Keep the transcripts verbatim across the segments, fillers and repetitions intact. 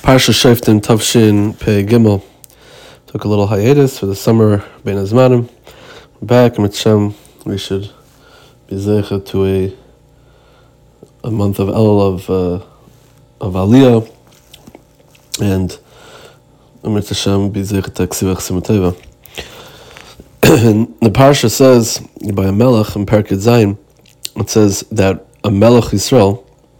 Parsha Shoftim Tavshin Pei Gimel took a little hiatus for the summer Bein Hazmanim. We're back, and Mitzvah we should be zeicha to a a month of El of uh, of Aliyah, and Mitzvah be zeicha to Ksivach Simuteva. The Parsha says by a Melech in Perkei Zayin, it says that a Melech Yisrael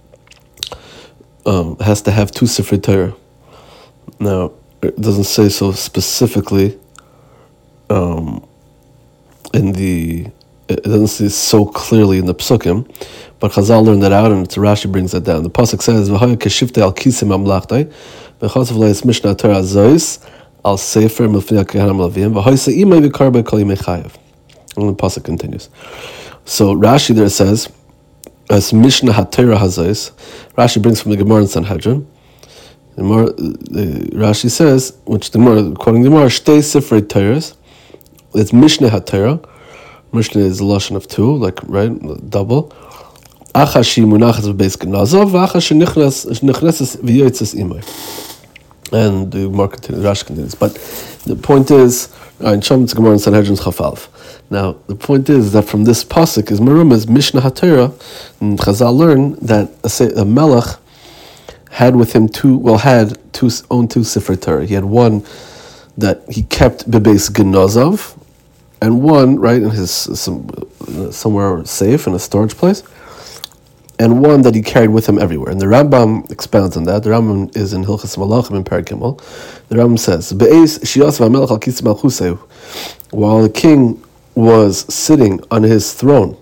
Um, has to have two Sifrei Torah. Now, it doesn't say so specifically um, in the, it doesn't say so clearly in the Psukim, but Chazal learned that out, and Rashi brings that down. The Pasuk says, V'haya keshivtei al kisim amlachtai, v'chasav leis mishnah Torah zois, al sefer milfnei kehanim lavim, v'haya se'imai v'karba kol yimei chayav. And the Pasuk continues. So Rashi there says, as Mishnah HaTorah Hazais, Rashi brings from the Gemara in Sanhedrin. The Gemara, the Rashi says, which the Gemara, quoting the Gemara, Shtei Sifrei Torahs. It's Mishnah HaTorah. Mishnah is a lashon of two, like right, double. Acha shi munachas v'beis genazov, v'acha shi nichneses v'yotzes imay. And the Gemara continues, Rashi continues. But the point is, in Shom Gemara in Sanhedrin Chafalv. Now, the point is that from this pasuk is Merum is Mishnah HaTorah, and Chazal learned that a, a Melech had with him two, well, had two, owned two Sifrei Torah. He had one that he kept bebeis genazov, and one, right, in his, some, somewhere safe in a storage place, and one that he carried with him everywhere. And the Rambam expounds on that. The Rambam is in Hilchas Malachim in Perek Gimel. The Rambam says, Be'ez shias v'amelech al kis malchuseu, while the king was sitting on his throne,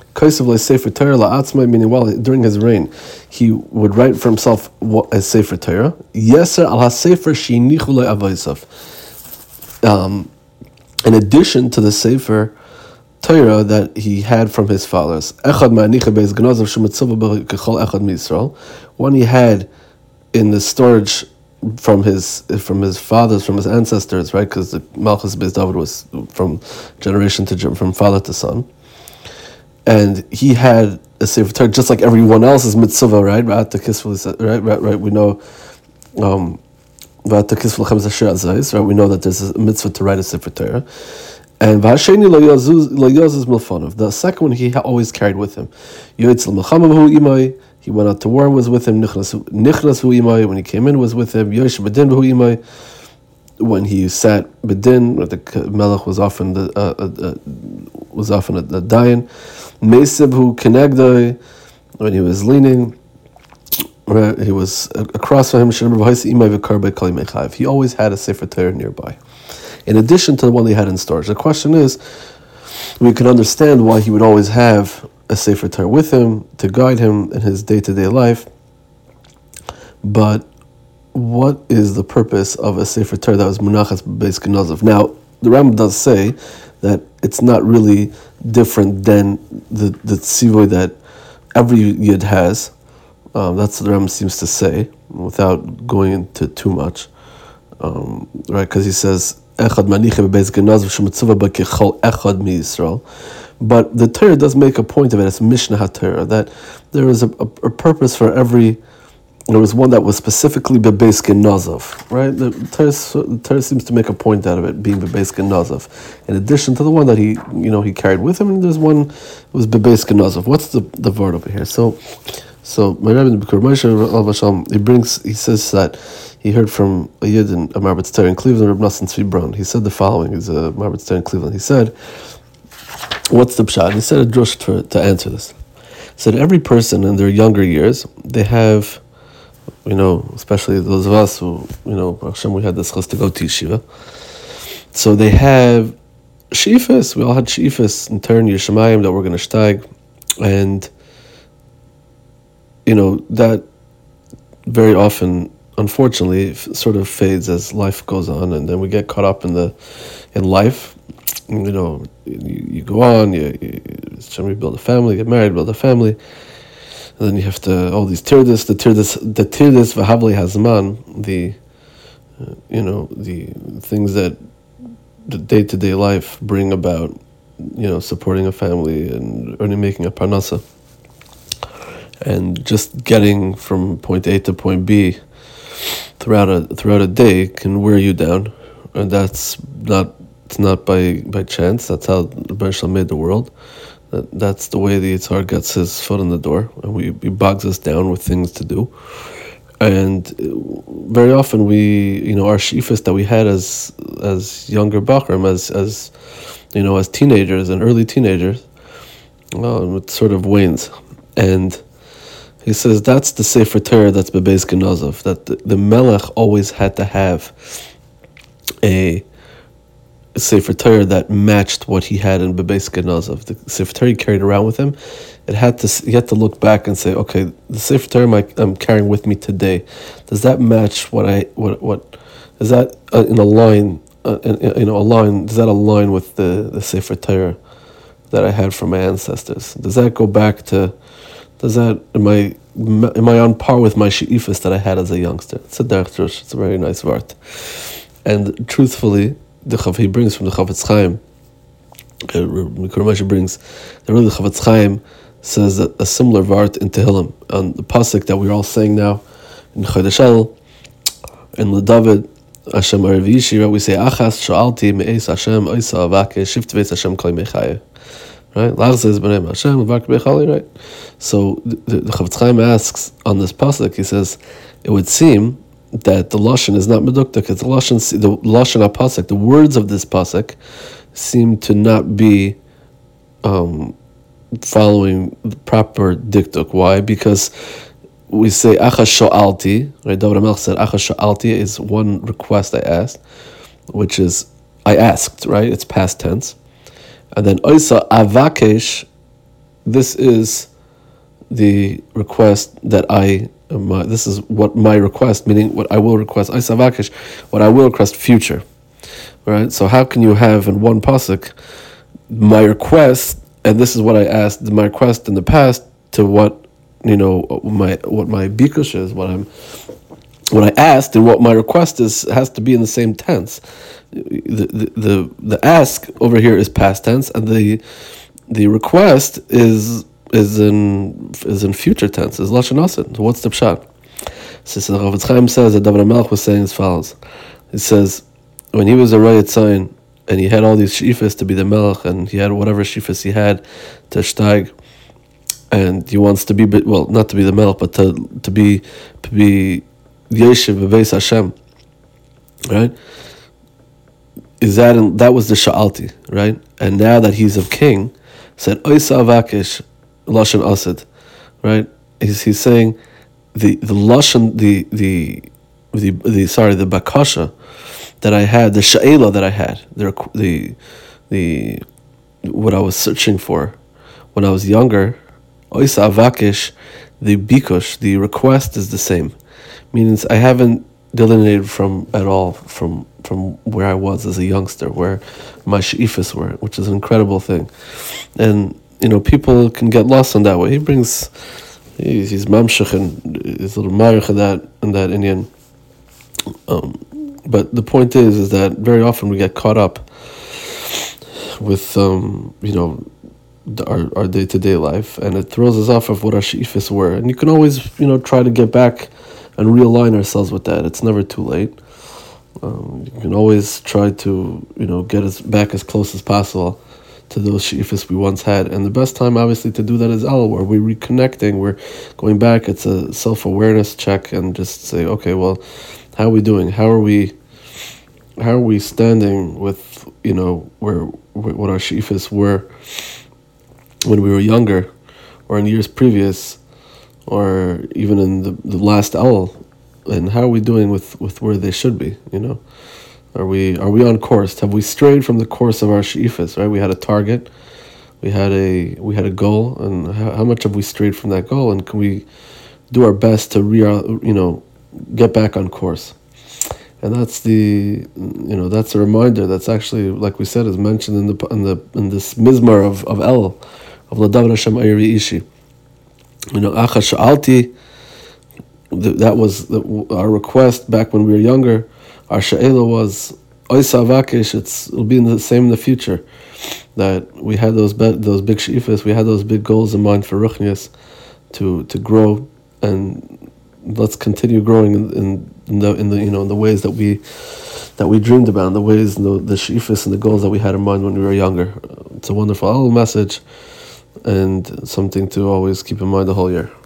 meaning while during his reign, he would write for himself a Sefer Torah. Yeser al haSefer sheinichu le'avosav. Um, in addition to the Sefer Torah that he had from his fathers, echad ma'anicha beis genazav shemitzuva kechol echad miYisrael. One he had in the storage from his from his fathers, from his ancestors, right? Because the Malchus Beis David was from generation to from father to son, and he had a Sefer Torah just like everyone else's mitzvah, right? Right, right, right. We know, um, right? We know that there's a mitzvah to write a Sefer Torah, and the second one he always carried with him. He went out to war and was with him. Nichnas hu imay, when he came in, was with him. Yosh bedin hu imay, when he sat bedin, the Melech was often the uh, uh, was often a, a dayan. Meisib hu kenegdai, when he was leaning, right, he was across from him. He always had a Sefer Torah nearby, in addition to the one they had in storage. The question is, we can understand why he would always have a Sefer Torah with him to guide him in his day-to-day life. But what is the purpose of a Sefer Torah that was munachas beis genazov? Now, the Rambam does say that it's not really different than the the tzivoy that every yid has. Um, that's what the Rambam seems to say, without going into too much, um, right? Because he says echad manicha beis genazov shemitzuva b'kechol echad miYisrael. But the Torah does make a point of it as Mishnah HaTorah, that there is a, a, a purpose for every. There was one that was specifically bebeis genazov, right? The Torah, the Torah seems to make a point out of it being bebeis genazov, in addition to the one that he, you know, he carried with him. And there's one that was bebeis genazov. What's the the word over here? So, so my Rebbe the B'kur Moshe Al Vasham, he brings, he says that he heard from a yid in a Marbet Torah in Cleveland, Reb Nosson Tzvi Braun. He said the following: he's a Marbet Torah in Cleveland. He said, what's the pshat? He said a drush to, to answer this. He said every person in their younger years, they have, you know, especially those of us who, you know, Hashem, we had this chus to go to yeshiva. So they have sheifas. We all had sheifas in turn, Yeshamayim, that we're going to shtag. And, you know, that very often, unfortunately, sort of fades as life goes on. And then we get caught up in the in life. You know, you, you go on, you, you build a family, get married, build a family, and then you have to, all these tirdis, the tirdis, the tirdis v'havli hazman, the, uh, you know, the things that the day-to-day life bring about, you know, supporting a family and earning, making a parnasa. and just getting from point A to point B throughout a throughout a day can wear you down, and that's not it's not by by chance. That's how the Rebbeinu Shalom made the world. That that's the way the Yitzhar gets his foot in the door, and we he bogs us down with things to do. And very often we, you know, our shifas that we had as as younger bachrim, as as you know, as teenagers and early teenagers, well, it sort of wanes. And he says that's the Sefer Torah that's Bebeis Genazov, that the, the Melech always had to have a Sefer Torah that matched what he had in Bebeis Genazov. The Sefer Torah he carried around with him, it had to you had to look back and say, okay, the Sefer Torah I'm carrying with me today, does that match what I what what is that uh, in a line uh, in, you know a line does that align with the the Sefer Torah that I had from my ancestors? Does that go back to does that am I am I on par with my she'ifas that I had as a youngster? It's a derech drush. It's a very nice word. And truthfully, the Chav he brings from the Chafetz Chaim, Mikra brings that really the Chafetz Chaim says that a similar vart in Tehillim on the pasuk that we're all saying now in Chodesh El in LeDavid Hashem Aravishi, we say Achas Sha'alti Me'es Hashem Oisa Avake Shift Veis Hashem Kol Mechaya. Right? Lachzes B'nei Hashem Avake Bechali. Right? So the, the, the Chafetz Chaim asks on this pasuk, he says, it would seem that the lashon is not meduktak. It's the lashon, the lashon pasuk. The words of this pasuk seem to not be um, following the proper diktuk. Why? Because we say achas sho'alti. Right? David HaMelech said achas sho'alti is one request I asked, which is I asked. Right? It's past tense, and then oisa avakesh. This is the request that I. My, this is what my request, meaning what I will request, Isavakish, what I will request future. Right? So how can you have in one pasuk my request, and this is what I asked, my request in the past to what you know my what my bikush is, what I'm what I asked, and what my request is has to be in the same tense. The the the, the ask over here is past tense, and the the request is is in is in future tense, is lashon asid. So what's the pshat? So the Chafetz Chaim says that David HaMelech was saying as follows. He says when he was a Rayat Tzayin and he had all these shifas to be the Melech, and he had whatever shifas he had to shtag, and he wants to be well, not to be the Melech, but to to be to be Yeshiv Bebeis Hashem. Right? Is that in, that was the Sha'alti, right? And now that he's a king, said Oisa Avakish Lashon Asid, right? He's he's saying the the Lashon the the the the sorry the bakasha that I had, the sha'ela that I had, the the the what I was searching for when I was younger, Oisa Avakish, the bikush, the request is the same, means I haven't delineated from at all from from where I was as a youngster, where my she'ifas were, which is an incredible thing, and. You know, people can get lost on that way. He brings, he's, he's mamshach and he's a little marich in that in that Indian. Um, but the point is, is that very often we get caught up with, um, you know, the, our our day to day life, and it throws us off of what our she'ifas were. And you can always, you know, try to get back and realign ourselves with that. It's never too late. Um, you can always try to, you know, get us back as close as possible to those she'ifas we once had. And the best time, obviously, to do that is El, where we're reconnecting, we're going back. It's a self-awareness check, and just say, okay, well, how are we doing? How are we how are we standing with, you know, where what our she'ifas were when we were younger, or in years previous, or even in the, the last El, and how are we doing with, with where they should be, you know? Are we are we on course? Have we strayed from the course of our she'ifas? Right, we had a target, we had a we had a goal, and how, how much have we strayed from that goal? And can we do our best to re you know get back on course? And that's the you know that's a reminder. That's actually, like we said, is mentioned in the in the in this mizmar of of El, of LeDavid Hashem Ayri Ishi. You know, Achas Sha'alti. That was the, our request back when we were younger. Our she'ela was Oisa Avakish. It's it'll be in the same in the future. That we had those be, those big she'ifas, we had those big goals in mind for Ruchnias, to to grow and let's continue growing in, in, in the in the you know in the ways that we that we dreamed about, in the ways and the the sheifas and the goals that we had in mind when we were younger. It's a wonderful little message, and something to always keep in mind the whole year.